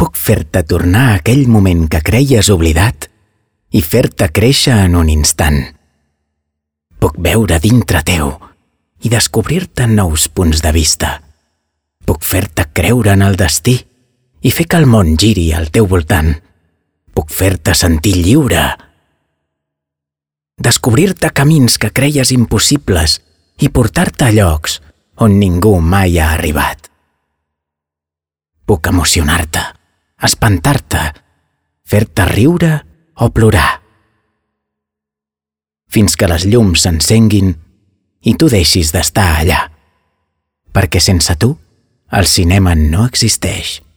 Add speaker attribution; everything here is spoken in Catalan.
Speaker 1: Puc fer-te tornar a aquell moment que creies oblidat i fer-te créixer en un instant. Puc veure dintre teu i descobrir-te nous punts de vista. Puc fer-te creure en el destí i fer que el món giri al teu voltant. Puc fer-te sentir lliure. Descobrir-te camins que creies impossibles i portar-te a llocs on ningú mai ha arribat. Puc emocionar-te, espantar-te, fer-te riure o plorar. Fins que les llums s'encenguin i tu deixis d'estar allà, perquè sense tu el cinema no existeix.